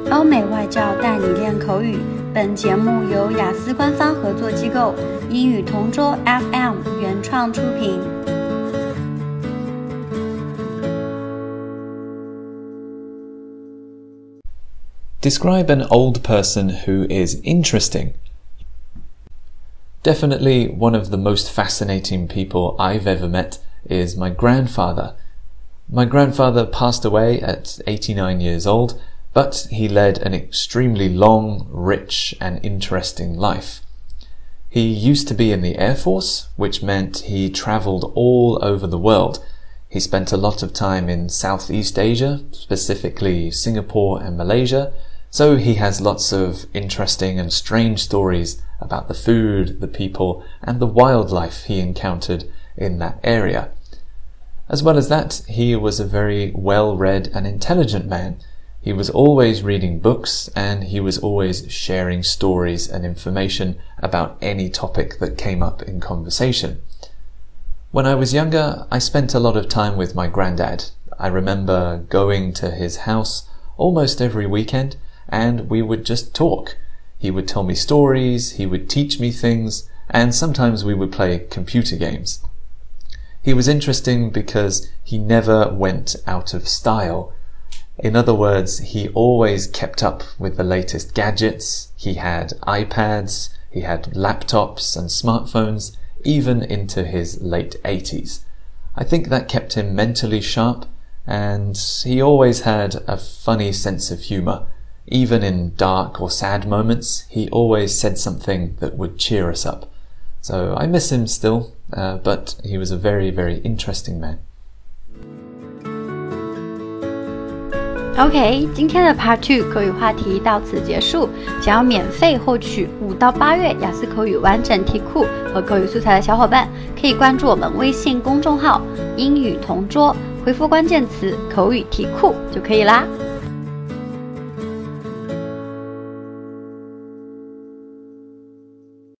欧美外教带你练口语。本节目由雅思官方合作机构英语同桌 FM 原创出品。 Describe an old person who is interesting. Definitely one of the most fascinating people I've ever met is my grandfather. My grandfather passed away at 89 years old, but he led an extremely long, rich and interesting life. He used to be in the Air Force, which meant he travelled all over the world. He spent a lot of time in Southeast Asia, specifically Singapore and Malaysia, so he has lots of interesting and strange stories about the food, the people, and the wildlife he encountered in that area. As well as that, he was a very well-read and intelligent man. He was always reading books, and he was always sharing stories and information about any topic that came up in conversation. When I was younger, I spent a lot of time with my granddad. I remember going to his house almost every weekend, and we would just talk. He would tell me stories, he would teach me things, and sometimes we would play computer games. He was interesting because he never went out of style. In other words, he always kept up with the latest gadgets. He had iPads, he had laptops and smartphones, even into his late 80s. I think that kept him mentally sharp, and he always had a funny sense of humour. Even in dark or sad moments, he always said something that would cheer us up. So I miss him still, but he was a very, very interesting man. OK， 今天的 Part 2口语话题到此结束。想要免费获取5到8月雅思口语完整题库和口语素材的小伙伴，可以关注我们微信公众号英语同桌，回复关键词口语题库就可以啦。